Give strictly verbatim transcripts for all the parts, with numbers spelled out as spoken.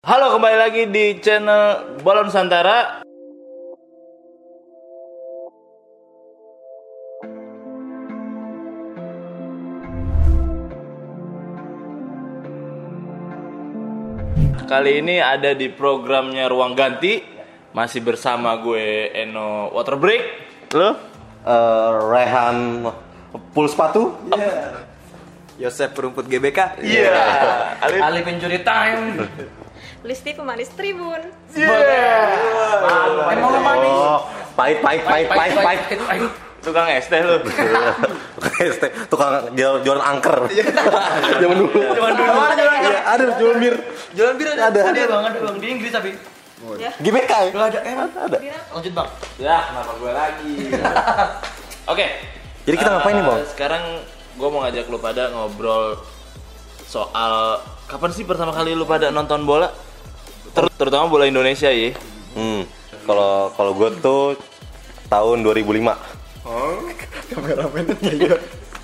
Halo, kembali lagi di channel Bola Nusantara. Kali ini ada di programnya Ruang Ganti. Masih bersama gue Eno Water Break. Lo? Uh, Rehan Pool Sepatu. Yeah. Yosef Perumput G B K. Iya. Yeah. Ali, Ali pencuri time. Listi pemanis Tribun. Iya. Yeah. Emang manis. Oh, pahit, pahit, pahit, pahit, pahit. Tukang es teh lu. Tukang es teh, tukang jual jualan angker. Zaman dulu. Zaman dulu. Iya, ada jual bir. Jualan bir ada. Ada. Ada bang, ada bang di Inggris tapi. Ya. G B K. Gak ada, eh ada. Lanjut bang. Ya, kenapa gue lagi? Oke. Jadi kita ngapain nih, Bang? Sekarang gue mau ngajak lu pada ngobrol soal kapan sih pertama kali lu pada nonton bola? Ter- terutama bola Indonesia ya. Hmm. Kalau kalau gue tuh tahun dua ribu lima. Oh, kameramennya ya.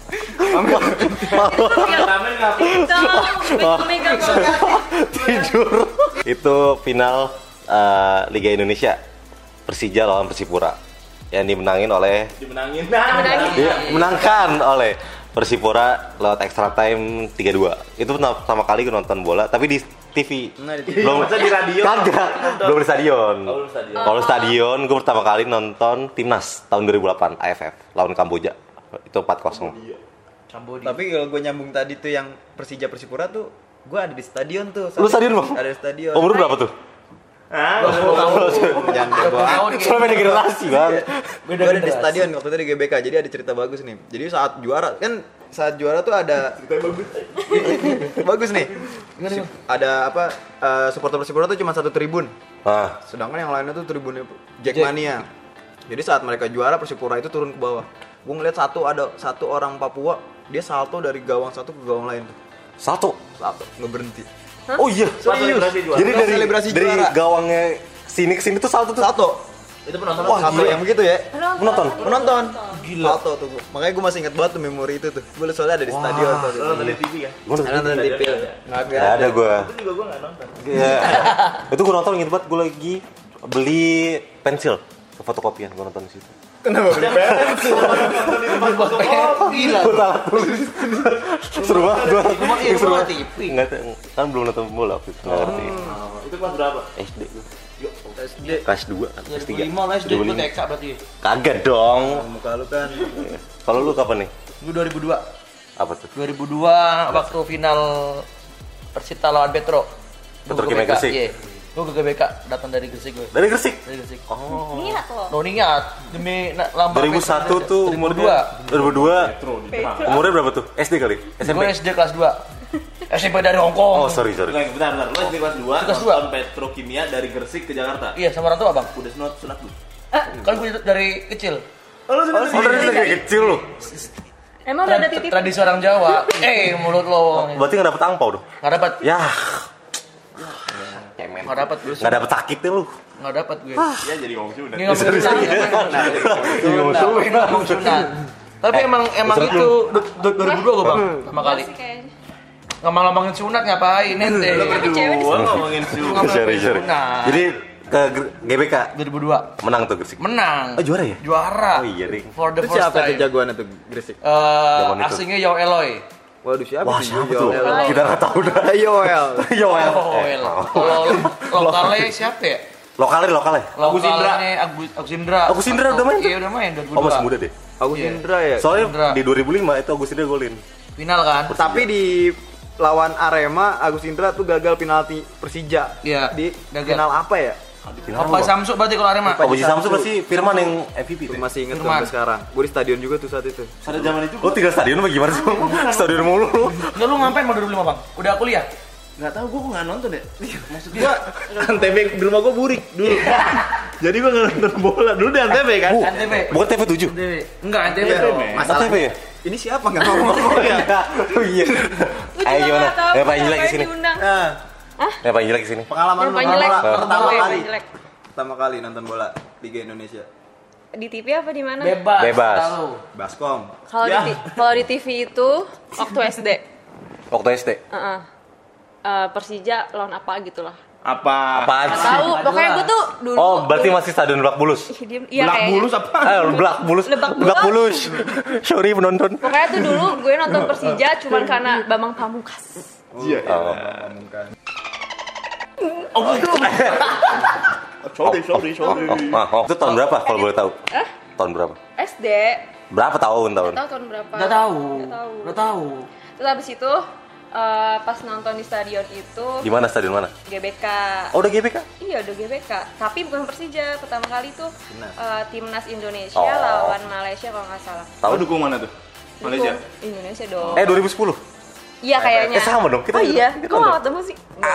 Ramen ngapain? Mega banget. Tidur. Itu final uh, Liga Indonesia Persija lawan Persipura yang dimenangin oleh Dimenangin. Dimenangin. dimenangkan oleh Persipura lewat extra time tiga dua. Itu pertama kali gue nonton bola tapi di T V. Nah, di T V. Masa di radio? Kagak. Belum di stadion. Oh, belum stadion. Kalau stadion gue pertama kali nonton Timnas tahun dua ribu delapan A F F lawan Kamboja. Itu empat kosong. Cambodia. Tapi kalau gue nyambung tadi tuh yang Persija Persipura tuh, gue ada di stadion tuh. Lu stadion, Bang? Ada di stadion. Umur berapa tuh? Hah? Jangan dibawa. Soalnya beda generasi, Bang. Gue ada di stadion waktu itu di G B K. Jadi ada cerita bagus nih. Jadi saat juara kan saat juara tuh ada bagus. bagus nih. Ada apa? Uh, supporter Persipura tuh cuma satu tribun. Ah, Sedangkan yang lainnya tuh tribunnya Jackmania. Jadi saat mereka juara Persipura itu turun ke bawah. Gue ngeliat satu ada satu orang Papua, dia salto dari gawang satu ke gawang lain. satu. Salto, nggak berhenti. Oh iya. Pas selebrasi juara. Jadi dari Selebrasi dari juara. gawangnya sini ke sini tuh salto tuh. Salto. Itu penonton. Wah, Salto gila. yang begitu ya. Menonton. Menonton. Gila. Salto tuh. Makanya gue masih ingat banget tuh memori itu tuh. Gue soalnya ada di stadion tuh. Lu nonton di T V ya? Gua nonton. Ada nonton di T V. Nggak Nggak Gak ada gua. Itu juga gue nggak nonton. Iya. Itu gua nonton inget banget gua lagi beli pensil ke fotokopian gua nonton di situ. Kenapa beli pensil? Gila. Gua salah tulis. Seru banget gua. Gua mah iya, Seru gua banget. T V. Enggak kan belum nonton bola waktu itu. Enggak ngerti. Oh, itu kelas berapa? S D gua. S D. Kelas dua, kelas tiga. dua ribu lima lah S D gue T K berarti. Kagak dong. Muka lu kan. Kalau lu kapan nih? Gue dua ribu dua. Apa tuh? dua ribu dua waktu final Persita lawan Petro. Petro Kimia Gresik. Iya. Gue ke G B K datang dari Gresik gue. Dari Gresik. Dari Gresik. Oh. Niat loh. No niat demi na- lambang dua ribu satu Petro. tuh dua ribu dua. umurnya dua ribu dua. Petro. Umurnya berapa tuh? S D kali? S M P? Gue S D kelas dua. S M P dari Hong Kong. Oh, sorry, sorry. Bentar, bentar, bentar. Lu S D kelas dua, Kelas dua. nonton Petrokimia dari Gresik ke Jakarta. Iya, sama orang tua, Bang. Udah sunat sunat lu. Kan gue dari kecil. Oh, lu sunat Oh, dari kayak kecil lu. Emang udah ada Tra- titip? Tradisi orang Jawa. Eh, mulut lo. Berarti nggak dapet angpau dong? Nggak dapat. Ya, Nggak dapat gue. nggak dapet sakitnya lu. Nggak dapat gue. Ya jadi ngomong sunat. Ini ngomong sunat. Ngomong ngomong sunat. Tapi emang emang Sunat itu du- du- dua ribu dua gue bang pertama kali. Masih kayaknya. Ngomong-ngomongin sunat ngapain ente? Tapi cewek di Gua ngomongin sunat. Ngomongin Sorry, sorry. sunat. Jadi ke G- G B K dua ribu dua menang tuh Gresik. menang. Oh, juara ya? Juara. Oh iya, Ding. For the Itu first siapa tuh time. jagoannya tuh Gresik? Eh, Zaman itu. asingnya Yao Eloy. Waduh siapa Wah, tuh? siapa Yo- tuh? Yo- Kita nggak tahu dah. Yoel. Yoel. Oh, Eh, El. mau. Kalau lokalnya siapa ya? Lokalnya, lokalnya. Agus Indra. Lokalnya Agus Agus Indra. Agus Indra udah main tuh? Iya, udah main dua ribu dua. Oh, masih muda deh. Agus Iya. Indra ya. Soalnya Indra. di dua ribu lima itu Agus Indra golin. Final kan? Tapi di lawan Arema Agus Indra tuh gagal penalti Persija. Iya, Di gagal. final apa ya? Apa Samsu berarti kalau Arema? Oh, Biji Samsu berarti Firman yang M V P tuh. Gue masih inget tuh Firman. sampai sekarang. Gue di stadion juga tuh saat itu. Pada zaman itu Lo tinggal stadion apa gimana sih? Stadion mulu lu. Enggak, lu ngapain mau dua ribu lima bang? Udah kuliah? nggak tahu gua kok nggak nonton ya. Maksud Gua Antv di rumah gua burik dulu. Jadi gua nggak nonton bola dulu di Antv kan. Bu, Antv. bukan T V tujuh. Antv. Enggak, Antv Iya, dong. masalah- Antv ya? Ini siapa nggak ngomong ya? Oh iya. Gue Ayo juga gimana? nggak tahu Ya Pak Injilek kenapa di sini. diundang. Nah, Ya Pak Injilek di sini. pengalaman Yang lu paling nonton jelek. bola pertama Yang kali. paling jelek. Pertama kali nonton bola Liga Indonesia. Di T V apa di mana? Bebas. Bebas. Tahu. Baskom. Kalau Ya. di kalau di T V itu waktu S D. Waktu S D. Heeh. Eh, Persija lawan apa gitu lah. Apa? Apaan Nggak sih? tahu, pokoknya gue tuh dulu. Oh, berarti dulu- masih Stadion Lebak Bulus. Ih, diem. Iya Belak kayaknya. bulus apa? Eh, Lebak Bulus. Lebak Bulus. Lebak Bulus. Sorry penonton. Pokoknya tuh dulu gue nonton Persija cuman karena Bambang Pamungkas. Iya. Oh. Sorry, sorry, sorry. Oh, oh, oh. Itu tahun berapa kalau boleh tahu? Hah? Tahun berapa? S D. Berapa tahun tahun? Nggak tahu tahun berapa. Nggak tahu. Nggak tahu. Nggak tahu. Terus habis itu eh, pas nonton di stadion itu Di mana stadion mana? G B K. Oh, udah G B K? Iya udah G B K, tapi bukan Persija. Pertama kali tuh eh, timnas Indonesia Oh. lawan Malaysia kalau nggak salah. Tahu dukung mana tuh? Malaysia. Dukung Indonesia dong. Eh, dua ribu sepuluh. Iya kayaknya. Eh, sama dong. Kita Oh iya, kita kok nggak dong. ketemu sih?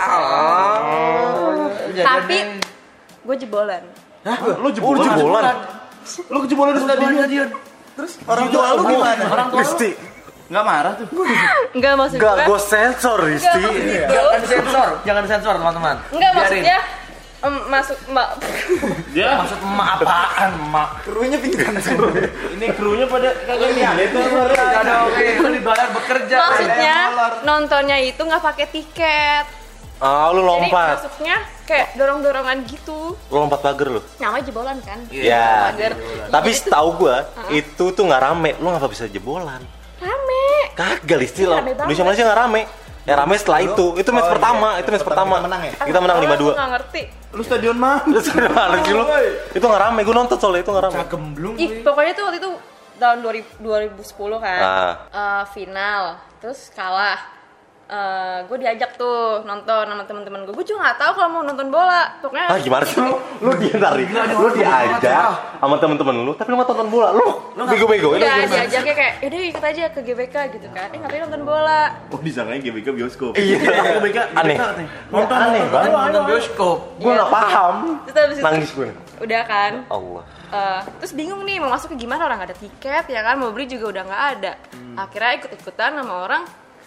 Oh. Tapi gue jebolan. Hah? Lu Oh, jebolan? jebolan. Lu kejebolan di stadion? Terus Orang tua lu gimana? orang tua lu Risti. Enggak marah tuh. Enggak maksud Enggak, gue. gue sensor, Risti. Enggak maksud itu. jangan disensor, jangan disensor teman-teman. Enggak Biarin. maksudnya em, masuk mbak. Dia Maksud emak apaan, emak? Krunya pingsan semua. ini krunya pada kagak lihat itu. Enggak ada oke, lu dibayar bekerja. Maksudnya nontonnya itu nggak pakai tiket. Ah, lu Jadi lompat. masuknya kayak dorong-dorongan gitu. Lu lompat pagar lu. Namanya jebolan kan? Ya. Pagar. Tapi Jadi tuh setahu gua, itu tuh nggak rame. Lu ngapa bisa jebolan? rame. Kagak, Listi. Iya, Lah. rame banget. Indonesia Malaysia nggak rame. Ya rame setelah itu. Itu match Oh, pertama, iya. itu match Pertama pertama. kita menang ya? Kita menang lima dua. Gue nggak ngerti. Lu stadion mana? Terus mana sih lu? Itu nggak rame. Gua nonton soalnya itu nggak rame. Gemblung. Ih, pokoknya tuh waktu itu tahun dua ribu, dua ribu sepuluh kan. Ah. Eh, final, terus kalah. Eh, gue diajak tuh nonton sama teman-teman gue. Gue juga nggak tahu kalau mau nonton bola. Pokoknya Ah, gimana sih lu? Lu dia tarik. Lu diajak sama temen-temen lu, tapi lu nggak tonton bola. Lu bego-bego. Itu udah gimana? diajaknya kayak, yaudah ikut aja ke G B K gitu kan. Eh ngapain nonton bola? Oh, disangkanya G B K bioskop. Iya. Aneh. Nonton Aneh banget. Nonton bioskop. Gua nggak paham. Terus habis itu Nangis gue. udah kan. Allah. Eh, terus bingung nih mau masuk ke gimana, orang nggak ada tiket ya kan, mau beli juga udah nggak ada. Akhirnya ikut-ikutan sama orang,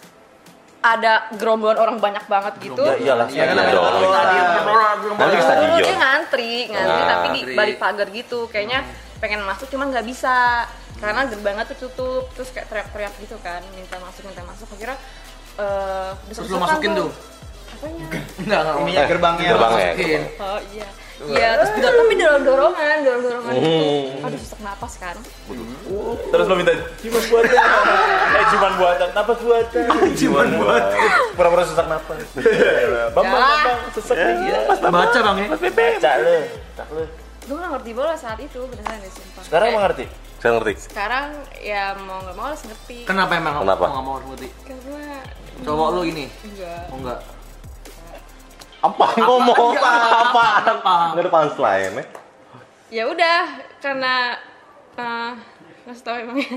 ada gerombolan orang banyak banget gitu. Ya iyalah, Iya, kan iya namanya dong. bola. Nanti ke stadion. Dia ngantri, ngantri Ah. tapi di balik pagar gitu. Kayaknya pengen masuk cuman nggak bisa karena gerbangnya tuh tutup. Terus kayak teriak-teriak gitu kan, minta masuk, minta masuk. Akhirnya eh Terus lu masukin tuh. Apanya? Enggak, enggak. Ininya gerbangnya. Gerbangnya. Masukin. Oh iya. Iya, terus udah tapi dorong-dorongan, dorong-dorongan gitu. Hmm. Aduh, sesak napas kan. Terus lu minta ciuman buatan. Eh, ciuman buatan. Napas buatan. Ciuman buatan. Pura-pura sesak napas. Bambang, Yalah. bambang, sesek nih. Baca Bang ya. Baca lu. Tak lu. Gue gak ngerti bola saat itu, beneran deh sumpah. Sekarang Kayak, emang ngerti? Saya ngerti. Sekarang ya mau gak mau harus ngerti. Kenapa emang Kenapa? Mau nggak mau ngerti? Karena Cowok lu ini. enggak. Oh enggak. Apa ngomong? Apa? Apa? Apa? Nggak ada punchline ya? Ya udah, karena eh ngasih tau emangnya.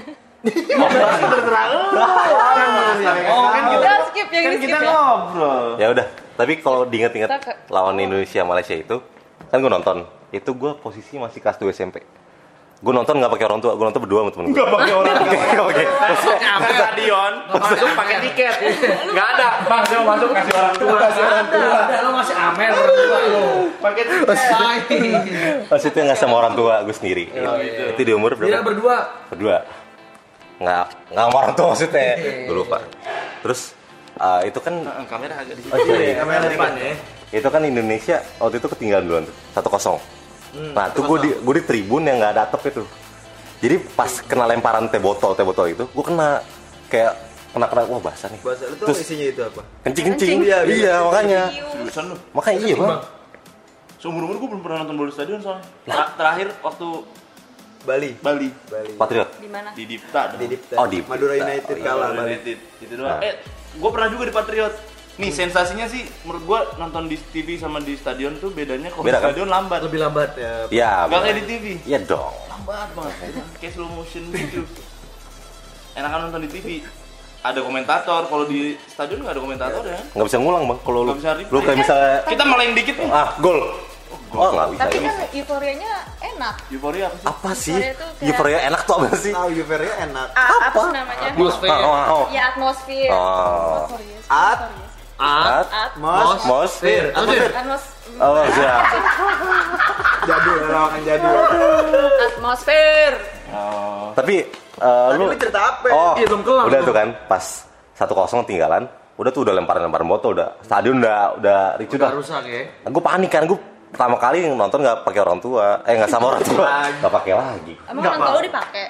Oh, kan Udah skip yang kan ini skip kita ya. ngobrol. Ya udah. Tapi kalau diinget-inget Kita ke- lawan Indonesia Malaysia itu, kan gue nonton. Itu gue posisi masih kelas dua S M P. Gue nonton nggak pakai orang tua, gue nonton berdua sama temen gue. Gak pakai orang. Nggak pakai. Nyampe stadion, masuk pakai tiket. Gak ada. Bang, saya mau masuk kasih orang tua. Kasih orang tua. Ada lu masih amer orang tua lu. Pakai tiket. Maksudnya nggak sama orang tua, gue sendiri. Itu di umur Dia berapa? berdua. Berdua. Nggak nggak sama orang tua maksudnya. Gue lupa. Terus eh, itu kan Kamera agak di oh, iya, iya. Kamera depan ya. itu kan Indonesia waktu itu ketinggalan duluan tuh satu kosong. Nah tuh gue di gue di tribun yang nggak ada atap itu. Jadi pas kena lemparan teh botol teh botol itu, gue kena kayak kena kena wah basah nih. Bahasa lu tuh Terus isinya itu apa? kencing kencing. Kencing. Iya, Iya, iya. makanya. Seriusan lu. Makanya iya bang. Seumur umur gue belum pernah nonton bola di stadion soalnya. Tra- terakhir waktu Bali. Bali Bali. Patriot. Di mana? di Dipta. dong. Di Dipta. Oh, Dipta. Madura United Oh, iya. kalah Madura Bali. United. Itu doang. Nah. Eh, gue pernah juga di Patriot. Nih sensasinya sih menurut gue nonton di T V sama di stadion tuh bedanya kalau di Beda, kan? stadion lambat. Lebih lambat. Ya, Iya. Gak bener. kayak di T V. Iya dong. Lambat banget. Kayak slow motion gitu. Enakan nonton di T V. Ada komentator, kalau di stadion nggak ada komentator ya. Nggak bisa ngulang bang. Kalau lu Nggak bisa replay. lu kayak misalnya Kita meleng dikit nih. ah gol. Oh nggak bisa. Tapi ya. kan euforianya enak. Euforia apa sih? Apa sih? Euforia tuh kayak- Euforia enak tuh apa sih? tahu Juveria enak. A- apa sih namanya? Atmosfer. Oh, oh, oh. Ya atmosfer. Oh. Euforia, At. euforia. At, At. Mos. mos, Fir. Atmosfer. Atmos. oh siap. Jadul, lawakan jadul. Atmosfer. Oh. Tapi eh, Tadi lu lu cerita apa? oh Iya, belum kelar udah lu. tuh kan pas satu kosong tinggalan Udah tuh udah lemparan-lemparan botol, udah stadion udah udah ricu Udah dah. rusak ya. Nah, gue panik kan, gue pertama kali nonton nggak pakai orang tua, eh nggak sama orang tua, nggak pakai lagi. Emang orang tua lu dipakai?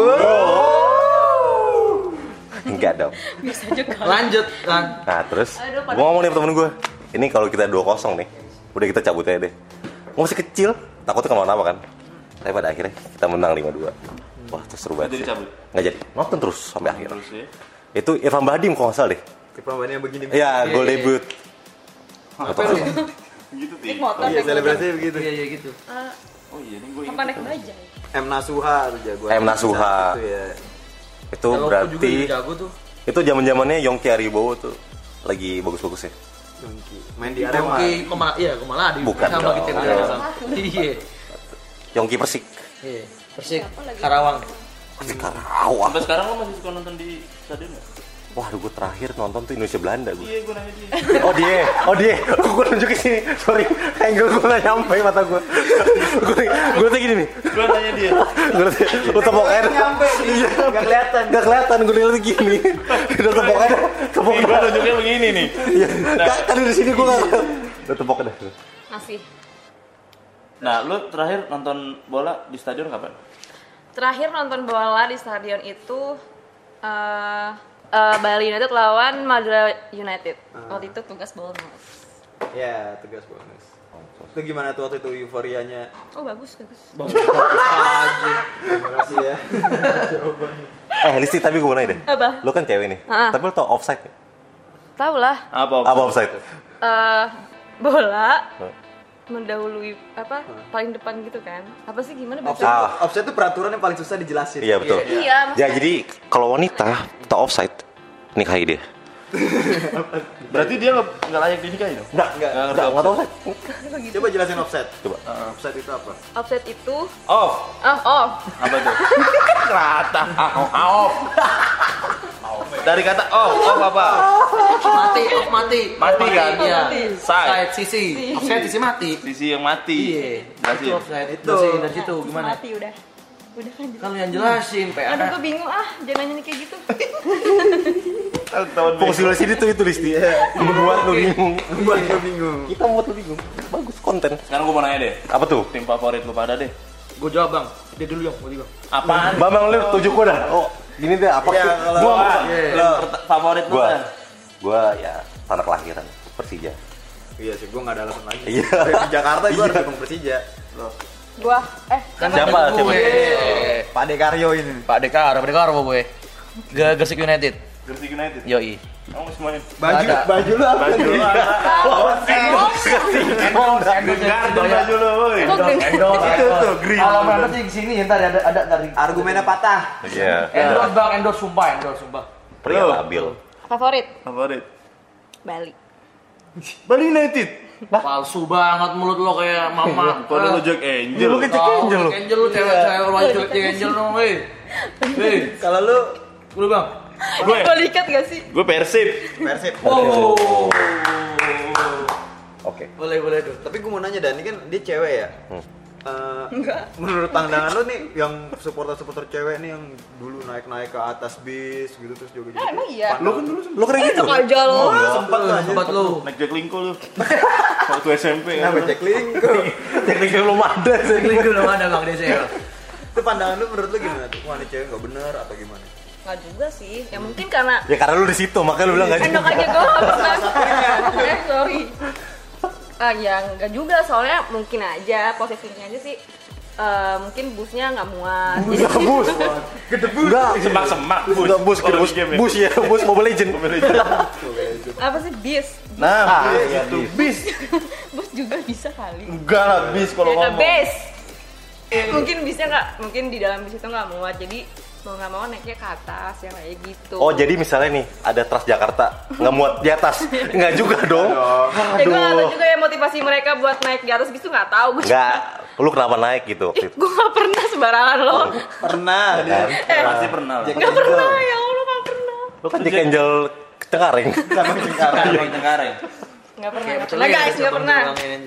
Enggak dong. Bisa juga. Lanjut kan. Nah terus, Aduh, gue ngomong nih sama temen gue, ini kalau kita dua kosong nih, udah kita cabut aja deh. Gue masih kecil, takutnya kenapa-napa kan. Tapi pada akhirnya kita menang lima dua. Wah, terus seru banget. Jadi sih. cabut? Nggak jadi, nonton terus sampai akhir. Terus ya. Itu Irfan Bahdim kalau nggak salah deh. Permainannya begini. Iya, gol debut. Apa lu? Gitu Naik sih. motor, Iya, naik motor. selebrasinya begitu. Iya iya gitu. Ah, Oh iya, nih gue apa naik bajai? M Nasuha tuh jagoan. M Nasuha. Itu ya. Itu Kalau aku juga berarti jago tuh. itu zaman-zamannya Yongki Aribowo tuh lagi bagus-bagusnya. Yongki. Main di Arema. Oke, kemana? Iya, kemana di Bukan sama dong. kita Bukan. sekarang. Iya. Yongki Persik. Iya. Persik Siapa lagi? Karawang. Persik Karawang. Sampai sekarang lo masih suka nonton di stadion nggak? Wah, gue terakhir nonton tuh Indonesia Belanda gue. Iya, gue nanya dia. Oh dia, oh dia, gue nunjuk ke sini. Sorry, angle gue nggak nyampe mata gue. Gue, gue tuh gini nih. Gue nanya dia. Gue tuh, gue tepok air. Nyampe nih. Enggak kelihatan. Gak kelihatan, gue lihat gini. Udah tepok air, tepok Gue air. nunjuknya begini nih. Iya, kan kan di sini gue nggak. Udah tepok air. Masih. Nah, lu terakhir nonton bola di stadion kapan? Terakhir nonton bola di stadion itu eh eh, Bali United lawan Madura United. Waktu itu tugas bonus. Ya, tugas bonus. Itu gimana tuh waktu itu euforianya? Oh bagus bagus. Terima kasih ya. Eh, Listi, tapi gue mau nanya deh. Apa? Lu kan cewek nih, Ah. tapi lu tau offside nggak? Tahu lah. Apa? Apa offside? Eh bola Hah? mendahului apa paling depan gitu kan? Apa sih gimana Offset, bahasa? Ah. offset itu peraturan yang paling susah dijelasin. Iya betul. Iya. Ya jadi kalau wanita tau offside, nikahi dia. Berarti dia nggak nggak layak dinikahi dong? Enggak, Enggak, enggak, enggak tau offside. Coba jelasin offset. Coba. Offset itu apa? Offset itu Off. oh oh Apa tuh? Rata. Off. Dari kata off, off apa? Mati, off mati. Mati kan? Iya. Mati. Side. Side sisi. Offside sisi mati. Sisi yang mati. Iya. Jelasin. Itu offside. Itu. Jelasin dari situ gimana? mati udah. Udah kan. Kan lu yang jelasin, P A. Aduh gue bingung ah, jangan nanya nih kayak gitu. Tahun Fokus dulu sini tuh itu Listi. Membuat lu bingung. Buat gue bingung. Kita membuat lu bingung. Bagus konten. Sekarang gue mau nanya deh. Apa tuh? Tim favorit lu pada deh. Gue jawab, Bang. Dia dulu yang mau bang. Apaan? Bambang lu tujuh gua dah. Oh, gini deh apa Iya, sih? kalau- Gua Wah, Iya. lo pert- favorit lu gua kan? gua ya tanah kelahiran Persija. Iya sih, gue nggak ada alasan lagi. Iya. Di Jakarta gue harus Iya. dukung Persija. Gua eh Kan Siapa? ada gue. Pak Dekaryo ini. Pak Dekar, Pak Dekar apa gue? Ge- Gresik United. Gresik United. Yoi. Kamu semuanya. Baju, Ada. baju lu apa? Baju lu apa? Endorse, endorse. Garden baju lu, woi. Kok green? Endorse. Itu tuh, green. Kalau mana sih di sini ntar ada ada dari Argumennya patah. Iya. endorse bang, endorse sumpah, endorse sumpah. Pria Lu. labil. favorit Favorit. Bali. Bali United. Palsu banget mulut lo kayak mama. Kalau lu Jack Angel. Lu kan Jack Angel lu. Jack Angel lu cewek cewek lu aja Jack Angel dong, hei. Hei, Kalau lu lu bang. Gue. Mau diikat gak sih? Gue Persib. Persib. Wow. Oke. Boleh boleh tuh. Tapi gue mau nanya Dan, ini kan dia cewek ya? Eh, menurut pandangan lu nih yang supporter-supporter cewek nih yang dulu naik-naik ke atas bis gitu terus juga Ah, emang iya? Lu kan dulu Lu keren gitu. Enak aja lo. sempat lah Sempat lu. Naik Jack Linko lu. Waktu S M P kan. Kenapa Jack Linko? Teknik belum ada. Link belum ada bang D C L. Itu pandangan lu menurut lu gimana tuh? Wah ini cewek gak bener atau gimana? Nggak juga sih. Ya mungkin karena Ya karena lu di situ, makanya lu bilang enggak enak aja gue nggak pernah. Eh sorry. Ah ya nggak juga soalnya mungkin aja posisinya aja sih. eh, mungkin busnya nggak muat. Jadi Bus. Enggak. Semak-semak. Bus. Enggak bus, Kalau bus, di game ya. bus ya, bus Mobile Legend. apa sih bis? Nah, Ah, bis iya, itu. bis. Bis. Bus juga bisa kali. Enggak lah, bis kalau Ya, ngomong. base. Mungkin bisnya nggak, mungkin di dalam bis itu nggak muat. Jadi mau nggak mau naiknya ke atas yang kayak gitu. Oh, jadi misalnya nih ada Transjakarta nggak muat di atas. Enggak juga dong. Ya gue nggak tahu juga ya motivasi mereka buat naik di atas bis tuh nggak tahu. Gue Enggak. Lu kenapa naik gitu waktu Ih, itu? gue nggak pernah sembarangan loh. Pernah dia. Eh, Pasti pernah lah. nggak pernah ya Allah nggak pernah. Lu kan Jack Angel Cengkareng. Sama Cengkareng. Cengkareng, Cengkareng. Nggak pernah. Nggak pernah guys, nggak pernah.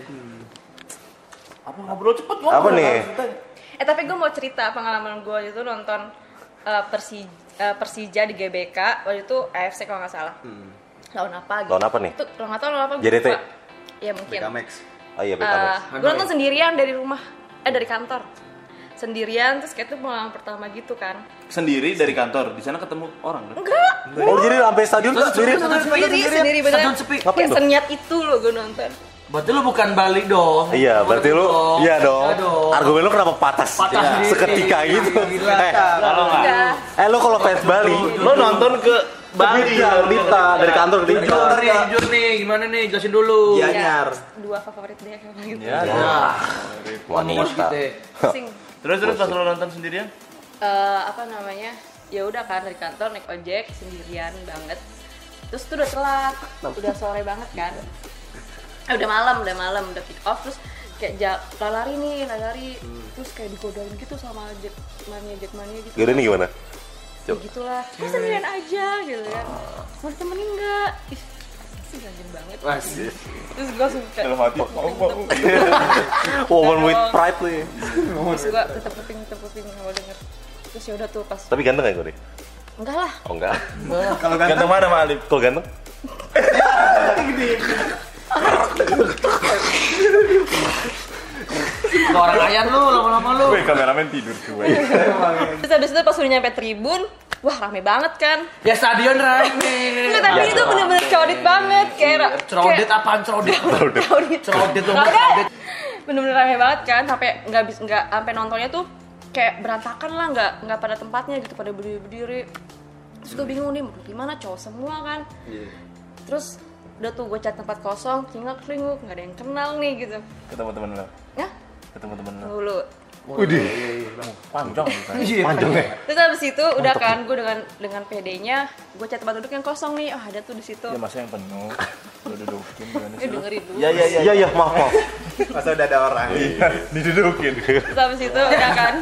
Apa ngobrol cepet ngobrol. Apa nih? Eh tapi gue mau cerita pengalaman gue itu nonton eh, Persi, eh, Persija di G B K waktu itu A F C kalau nggak salah. lawan apa gitu. Lawan apa nih? Itu nggak tahu lawan apa. J D T? Ya mungkin. B K M X. Oh iya, B K M X. Uh, gue nonton sendirian dari rumah, eh dari kantor. Sendirian, terus kayak itu pengalaman pertama gitu kan. Sendiri dari kantor, di sana ketemu orang kan? Enggak, Oh, jadi sampai stadion tuh sendiri. sendiri, sendiri beneran. Stadion sepi. Ngapain Kayak tuh? senyat itu loh gue nonton. Berarti lu bukan balik dong. Iya, berarti lu iya dong. Iya dong. Argumen lu kenapa patah? Patah sendiri. Seketika gitu. Gila. Eh, Kalau nggak, Enggak. eh lu kalau fans Bali, lo nonton ke Bali. Dita, Dita dari kantor ke Dita. Jujur nih, jujur nih, gimana nih? Jelasin dulu. Iya. Anyar. Dua favorit dia kayak gitu. Ya, Ngomong Wanita. gitu. Sing. Terus terus pas lo nonton sendirian? Eh, apa namanya? Ya udah kan dari kantor naik ojek sendirian banget. Terus tuh udah telat, udah sore banget kan. Eh, udah malam, udah malam, udah pick off terus kayak ja, lari nih, lari. Terus kayak digodain gitu sama Jack mania Jack mania gitu. Gimana nih gimana? Ya gitulah. Kok sendirian aja gitu kan. Mau ditemenin enggak? Ih, sih ganjen banget. Masih. Terus gue langsung kayak Dalam hati, mau mau. Woman with pride tuh ya. terus gue tetep kuping, tetep kuping kalau denger. Terus ya udah tuh pas Tapi ganteng gak gue deh? enggak lah. Oh enggak. Kalau Ganteng mana Mak Alif? Kalau ganteng? Orang ayan lu, lama-lama lu. Weh, kameramen tidur cuy. Terus habis itu pas udah nyampe tribun, wah rame banget kan. Ya stadion rame. Enggak, tapi itu bener-bener crowded banget kayak Cerodet apaan cerodet? crowded. Cerodet dong, Crowded. cerodet. Bener-bener rame banget kan, sampai nggak bisa nggak sampai nontonnya tuh kayak berantakan lah, nggak nggak pada tempatnya gitu, pada berdiri-berdiri. Terus gue bingung nih mau gimana, cowok semua kan. Terus udah tuh gue cari tempat kosong, tinggal kelinguk, nggak ada yang kenal nih gitu. Ketemu temen lo. Ya, Ketemu temen lo. dulu. Widih. Panjang bukan? Panjang ya. Terus habis itu udah kan gue dengan dengan pedenya gue cari tempat duduk yang kosong nih. Oh, ada tuh di situ. Ya masa yang penuh. Lo dudukin gimana Eh sih? dengerin dulu. Ya ya ya. Iya iya, maaf maaf. Masa udah ada orang. Didudukin. Terus habis itu udah kan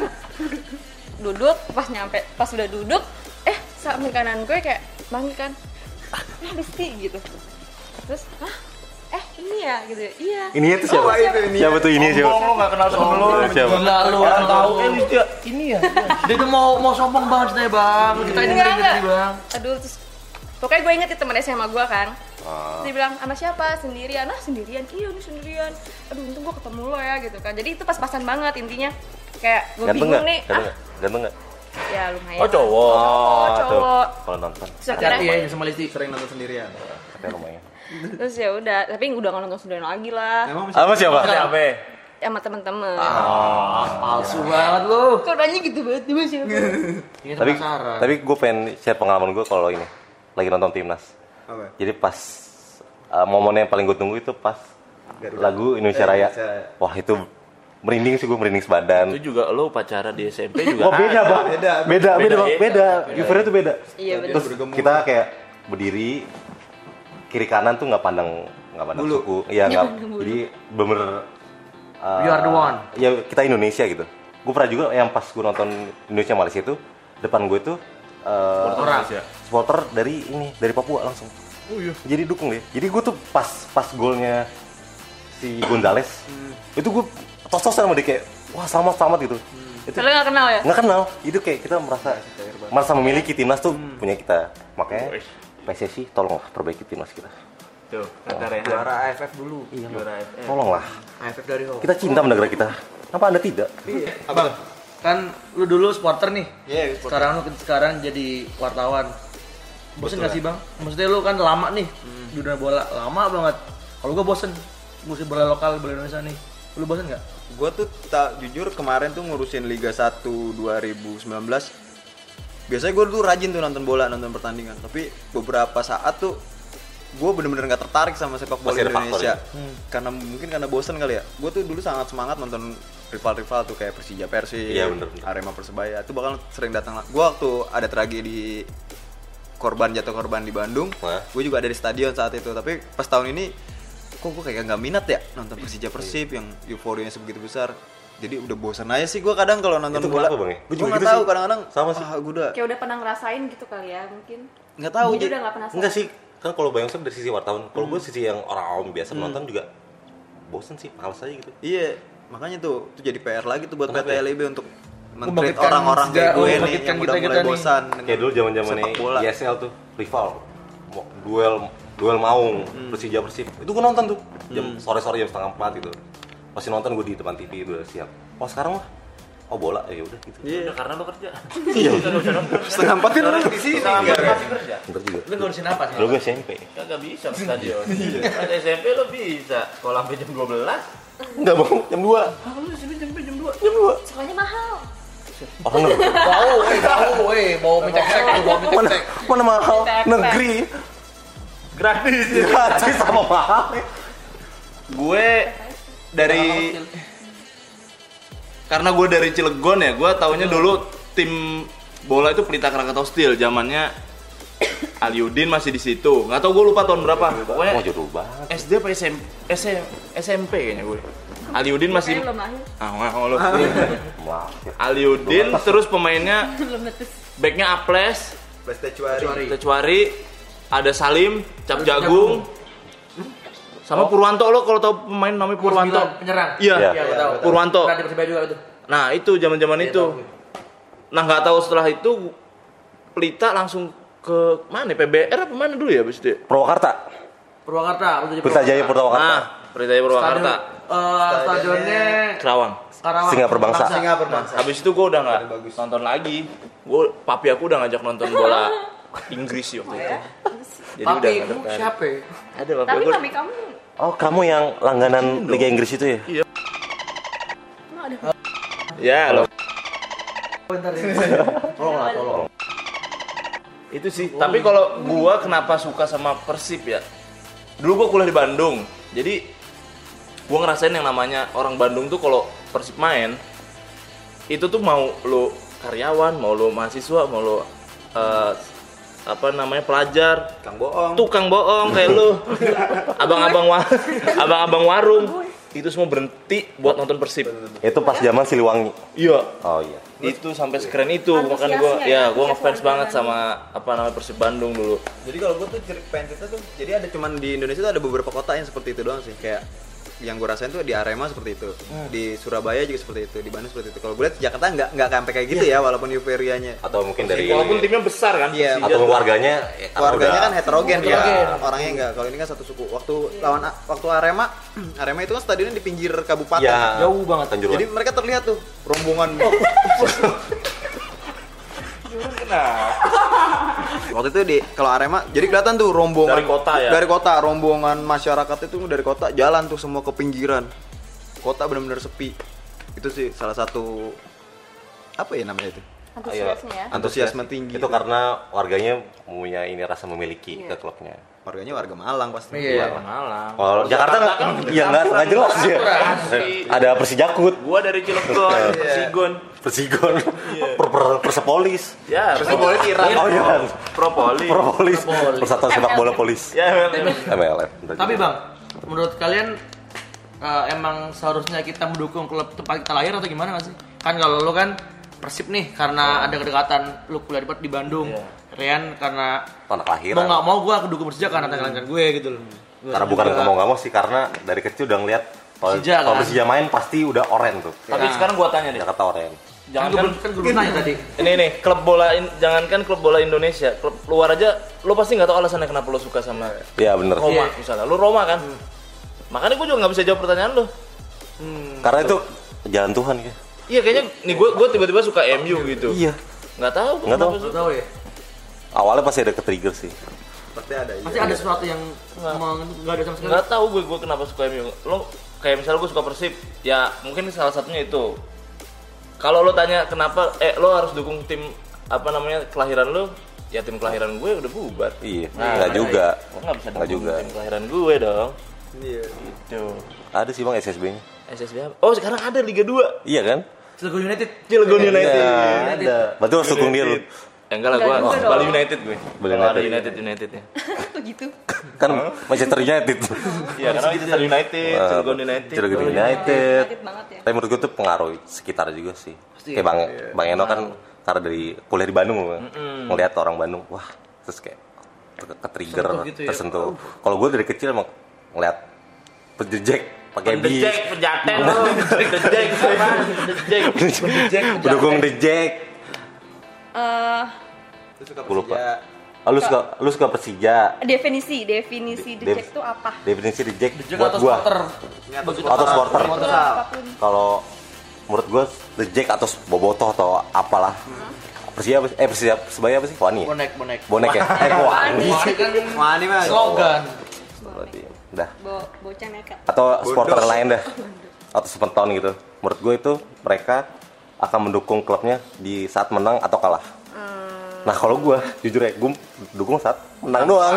duduk, pas nyampe, pas udah duduk, eh samping kanan gue kayak manggil kan, ah Listi gitu. Terus, hah? Eh ini ya gitu, iya. Ini itu siapa? Oh, itu ini. Siapa tuh ini siapa? Sombong lo gak kenal temen lo. Siapa? Gila lu. Orang tahu eh dia ini ya. Dia tuh mau mau sombong banget ceritanya bang. Kita ini Enggak, dengerin enggak. tadi bang. Aduh, terus pokoknya gue inget itu temen S M A gue kan. Ah. Terus dia bilang, sama siapa? Sendirian. Ah sendirian? Iya ini sendirian. Aduh untung gue ketemu lo ya gitu kan. Jadi itu pas-pasan banget intinya. Kayak gue Ganteng bingung nggak? nih. Ganteng Ah nggak? Ganteng nggak? ya lumayan. Oh cowok. Oh, tuh. cowok. Kalau nonton, Terus Hati-hati akhirnya, ya sama Listi. Sering nonton sendirian. katanya lumayan. terus ya udah. Tapi udah nggak nonton sendirian lagi lah. Emang Apa siapa? Siapa? Sama temen-temen. Ah. Palsu banget lu. Kok nanya gitu banget tuh siapa? Ini Tapi penasaran. tapi gue pengen share pengalaman gue kalau ini lagi nonton timnas. Apa? Jadi pas uh, momen yang paling gue tunggu itu pas Garuda. lagu Indonesia Eh, Raya. Indonesia Raya. Wah itu merinding sih, gue merinding sebadan. Itu juga lo upacara di S M P juga. Oh beda bang, Beda, beda, beda, beda, bang, ya? beda. Beda. Euforia tuh beda. Iya betul. Terus bergemuruh. kita kayak berdiri kiri kanan tuh nggak pandang nggak pandang Bulu. suku, iya nggak. pandang bulu. Jadi bener. uh, You are the one. Ya kita Indonesia gitu. Gue pernah juga yang pas gue nonton Indonesia Malaysia itu depan gue tuh uh, Orang. supporter dari ini dari Papua langsung. Oh iya. Jadi dukung deh. Jadi gue tuh pas pas golnya si Gonzales itu gue tos-tosan sama dia kayak wah selamat selamat gitu. Itu Soalnya nggak kenal ya? nggak kenal. Itu kayak kita merasa merasa memiliki timnas tuh punya kita. Makanya P S S I tolonglah perbaiki timnas kita. Tuh, kata Rehan. Juara A F F dulu. Iya, Juara A F F. tolonglah. A F F dari Ho. Kita cinta sama negara kita. Kenapa anda tidak? Apa? Kan lu dulu supporter nih. Iya, supporter. Sekarang lu sekarang jadi wartawan. Bosen gak sih bang? Maksudnya lu kan lama nih di dunia bola, lama banget. Kalau gua bosen, ngurusin bola lokal, bola Indonesia nih. Lu bosen gak? Gue tuh tak jujur kemarin tuh ngurusin Liga satu dua ribu sembilan belas. Biasanya gue tuh rajin tuh nonton bola, nonton pertandingan. Tapi beberapa saat tuh gue bener-bener gak tertarik sama sepak bola Masih ada faktor Indonesia. ya? Hmm. Karena mungkin karena bosen kali ya. Gue tuh dulu sangat semangat nonton rival-rival tuh kayak Persija Persib, Iya, bener, bener. Arema Persebaya. Itu bakal sering datang. Gue waktu ada tragedi korban jatuh korban di Bandung, Hah? gue juga ada di stadion saat itu. Tapi pas tahun ini kok gue kayak nggak minat ya nonton Persija Persib yang euforianya sebegitu besar. Jadi udah bosan aja sih gue kadang kalau nonton Itu bola. kenapa, Bang, ya? Gua Gue juga nggak gitu tahu sih. kadang-kadang. Sama sih. Ah, gue udah Kayak udah pernah ngerasain gitu kali ya mungkin. nggak tahu. Jadi Jadi udah nggak penasaran. Enggak sih, kan kalau Bang Yosef dari sisi wartawan, kalau gue sisi yang orang awam biasa nonton juga bosen sih, males aja gitu. iya, makanya tuh itu jadi P R lagi tuh buat P Kenapa T ya? L I B untuk men-treat Membangkitkan orang-orang kayak sejarah, gue nih membangkitkan yang udah kita-kita mulai nih. bosan dengan Kayak dulu zaman-zaman sepak bola. I S L tuh, rival, Mo- duel duel Maung, Persija Persib. Itu gue nonton tuh jam sore-sore jam setengah empat gitu. Masih nonton gue di depan T V udah siap. Oh sekarang mah, oh bola ya udah gitu. Iya, karena lo kerja. Iya. Setengah empat kan orang di sini. Setengah empat masih kerja. Bentar juga. Lu ngurusin apa sih? Dulu gue S M P. Kagak bisa ke stadion. Ada S M P lo bisa. Sekolah sampai jam dua belas. Enggak bang, jam dua. Ah, lu S M P jam jam dua. Jam dua. Sekolahnya mahal. Orang negeri. Bau, eh, bau, eh, bau mencek-cek, bau Mana, mencek-cek. mana mahal? Tek-tek. Negeri. Gratis. Gratis sama mahal. Gue dari karena gue dari Cilegon ya, gue taunya dulu tim bola itu Pelita Krakatau Steel, zamannya Aliudin masih di situ. Nggak tahu gue lupa tahun berapa. Pokoknya Oh jodoh banget. S D apa S M P? S M P kayaknya gue. Aliudin masih Kayaknya belum lahir. ah mau lo. Maaf ya. Aliudin terus pemainnya Belum netes. backnya Aples, Prestecuari. Tecuari, ada Salim, Cap Jagung, sama Purwanto. Lo kalau tahu pemain namanya Purwanto? Penyerang. Iya, Iya. Iya, gua tahu. Purwanto. Pernah di Persibaya juga itu. Nah itu zaman-zaman Iya, itu. tahu. Nah nggak tahu setelah itu Pelita langsung ke mana? P B R apa mana dulu ya abis itu? Purwakarta. Purwakarta, betul, Pelita Jaya Purwakarta. Nah, Pelita Jaya Purwakarta, Eh, stadionnya Kerawang. Karawang. Singa Perbangsa. Singa Perbangsa. Habis itu gue udah nggak Bagus. nonton lagi. Gue papi aku udah ngajak nonton bola Inggris waktu itu. Jadi udah Tapi nggak kamu tertarik. siapa ya? Ada papi Tapi aku. kami kamu Oh kamu yang langganan Liga Inggris itu ya? emang ada Ya lo. Bentar ya. Tolong lah, tolong. Itu sih. Tapi kalau gua kenapa suka sama Persib ya? Dulu gua kuliah di Bandung. Jadi gua ngerasain yang namanya orang Bandung tuh kalau Persib main itu tuh mau lo karyawan, mau lo mahasiswa, mau lo eh, apa namanya pelajar, Kang bohong. tukang bohong kayak lu, abang-abang wa abang-abang warung, itu semua berhenti buat nonton Persib. Itu pas zaman Siliwangi. Iya. Oh iya. Itu sampai sekeren itu, makanya gua Antusiasnya ya ya, gua antusias ngefans warga banget Bandung. sama apa namanya Persib Bandung dulu. Jadi kalau gue tuh ceri- pengen cerita tuh, jadi ada cuman di Indonesia tuh ada beberapa kota yang seperti itu doang sih. Kayak yang gue rasain tuh di Arema seperti itu, di Surabaya juga seperti itu, di Bandung seperti itu. Kalau gue lihat di Jakarta nggak nggak sampai kayak gitu ya, walaupun euforianya. Atau mungkin dari Walaupun timnya besar kan. Iya, Persija atau tuh. warganya ya, karena Keluarganya udah- kan heterogen, Heterogen. ya. Orangnya enggak. Kalau ini kan satu suku. Waktu lawan waktu Arema, Arema itu kan stadionnya di pinggir kabupaten. ya, Jauh banget. Tanjuruan. Jadi mereka terlihat tuh rombongan. Waktu itu di kalau Arema, jadi kelihatan tuh rombongan Dari kota ya? Dari kota, rombongan masyarakat itu dari kota jalan tuh semua ke pinggiran. Kota benar-benar sepi. Itu sih salah satu apa ya namanya itu? antusiasnya ya. Antusiasme tinggi. Itu karena warganya punya ini rasa memiliki Iya. ke klubnya. Warganya warga Malang pasti. Iya. Malang. Kalau Jakarta nggak, ya nggak nggak jelas ya. Ada Persijakut, Gua dari Cilegon, Persigon. Persigon, per, per, Persepolis. Ya, Persepolis Iran. Oh iya, Propoli. Propolis, Persatuan Sepak Bola Polis. Ya, M L F. Tapi Bang, menurut kalian eh, emang seharusnya kita mendukung klub tempat kita lahir atau gimana nggak sih? Kan kalau lu kan Persib nih karena ada kedekatan lu kuliah di, di Bandung. Iya. Rian karena Tanah mau kelahiran. nggak mau gua dukung Persija karena tanggalan gue gitu loh. Karena bukan mau nggak mau sih, karena dari kecil udah ngeliat kalau Persija, kalau kan? Persija main pasti udah oren tuh. tapi sekarang gua tanya deh. Jakarta oren. Kan Jangan gue kan belum kan gue belum nanya tadi. ini nih klub bola in- jangankan klub bola Indonesia, klub luar aja lo pasti nggak tahu alasannya kenapa lo suka sama Iya bener. Roma Iya. misalnya. Lo Roma kan. Makanya gue juga nggak bisa jawab pertanyaan lo. Karena itu jalan Tuhan ya. Iya kayaknya nih gue gue tiba-tiba suka M U gitu. Iya. Nggak tahu. Nggak kenapa tahu. suka. Nggak tahu ya. Awalnya pasti ada ke-trigger sih. Pasti ada. Pasti iya. ada sesuatu yang emang nggak ada sama sekali. Nggak tahu gue gue kenapa suka M U. Lo kayak misalnya gue suka Persib, ya mungkin salah satunya itu. Kalau lo tanya kenapa, eh lo harus dukung tim apa namanya kelahiran lo, ya tim kelahiran gue udah bubar. Iya. Nah, Nggak juga. Gue nggak bisa Nggak dukung juga. tim kelahiran gue dong. Iya. Gitu. Ada sih bang S S B-nya. S S B apa? Oh sekarang ada Liga dua. Iya kan? Cilegon United. Cilegon United. Iya, ada. Berarti harus dukung dia lu. Eh, enggak lah, Enggak gue juga Bali dong. United gue. Bali Kalau ada United. United United ya. Kok gitu? Kan Manchester United. Iya, karena Manchester United, Wah, Cilegon United. Cilegon Bali United. United banget ya. Tapi menurut gue tuh pengaruh sekitar juga sih. Kayak Bang Bang Eno kan karena dari kuliah di Bandung loh. Ngeliat orang Bandung, wah, terus kayak ke- ke-trigger, Tersentuh gitu ya. tersentuh. Kalau gue dari kecil emang ngeliat penjejek pakai bis. Pendejek, penjaten lo. Pendejek, apa? Pendejek. Pendukung The Jack. Eh, Terus suka Gua lupa. Persija. Oh, lu suka lu suka Persija. Definisi, definisi The Dev- Jack itu apa? Definisi The Jack Jack buat atau gua. supporter? Atau supporter. Atau apapun. Kalau menurut gua The Jack atau Bobotoh atau apalah. Persija apa sih? Eh Persija Sebaya apa sih? Wani. Ya? Bonek, bonek. Bonek ya? Eh kok Wani. Wah, kan Wah, ini mah slogan. Berarti udah. Bo bocah nekat. Atau supporter lain dah. Atau sepenton gitu. Menurut gue itu mereka akan mendukung klubnya di saat menang atau kalah. Nah kalau gue jujur ya, gue dukung saat menang doang.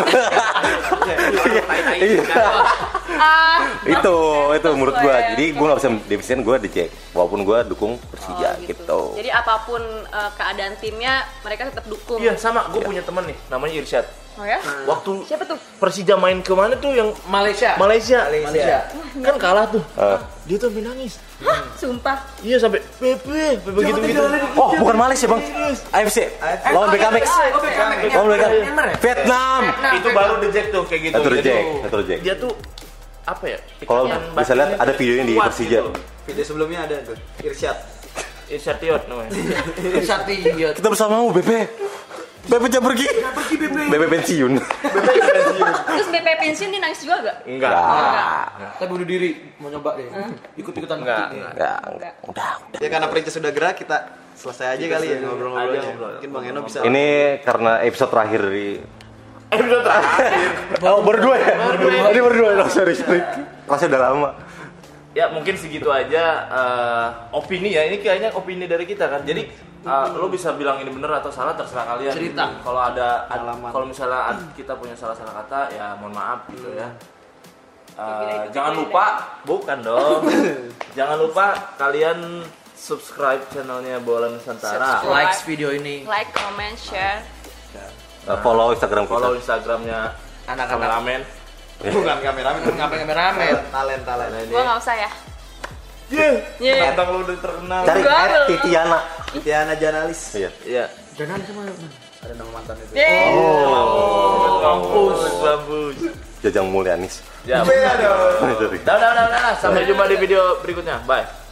Iya. Ah, itu itu menurut gue. sesuai. Jadi gue nggak bisa definisiin gue The Jack, walaupun gue dukung Persija Oh, gitu. Jadi apapun uh, keadaan timnya, mereka tetap dukung. Iya sama, gue punya temen nih, namanya Irsyad. Oh ya? Waktu Siapa tuh? Persija main kemana tuh yang Malaysia. Malaysia, Malaysia. kan kalah tuh. Eh. Dia tuh sampai nangis. Hah, sumpah. Iya sampai Pepe, Pepe gitu gitu. Oh bukan Malaysia bang, A F C lawan B K M X, lawan B K M X, Vietnam. Itu baru The Jack tuh kayak gitu. Itu The Jadi Jack, itu The Jack. Dia tuh apa ya? Kalau ikatan bisa lihat batinnya ada tuh videonya di kuat Persija. gitu. video sebelumnya ada tuh Irsyad. Irsyad Tiot namanya. Sati. Kita bersamamu B P. B P jangan pergi. B P pensiun. Terus B P pensiun dia nangis juga gak? Enggak. Kita bunuh diri, mau nyoba deh. Ikut-ikutan Enggak, bukti. Enggak, enggak. Udah, udah. Ya karena perintis sudah gerak, kita selesai aja kali ya ngobrol-ngobrolnya. Aja ngobrol. Mungkin Bang Eno bisa. Ini karena episode terakhir di Episode terakhir. Oh, berdua ya? Ini berdua ya? Oh, sorry, sorry. Kelasnya udah lama. Ya mungkin segitu aja eh, opini ya. Ini kayaknya opini dari kita kan. Jadi eh, lo bisa bilang ini bener atau salah terserah kalian. Cerita. Kalau ada ad- Pengalaman. kalau misalnya ad- kita punya salah-salah kata ya mohon maaf gitu ya. Eh, Kira itu jangan kita lupa, bukan dong. Jangan lupa kalian subscribe channelnya Bola Nusantara. Subscribe. Likes video ini. Like, comment, share. Uh, follow Instagram kita. Follow Instagramnya Anak-anak. kameramen. Bukan kameramen, Ngapain kameramen? talent talent. Nah, ini. Gua nggak usah ya. Yeah. Yeah. Tantang lo udah terkenal. Cari Enggak, at belum. Titiana. Tiana Janalis. Iya. Iya. Jangan sama Ada nama mantan itu. Yeay. Oh, kampus, kampus. Jajang Mulyanis. Ya. Beda dong. Sorry. Dah, dah, dah, dah. Sampai jumpa di video berikutnya. Bye.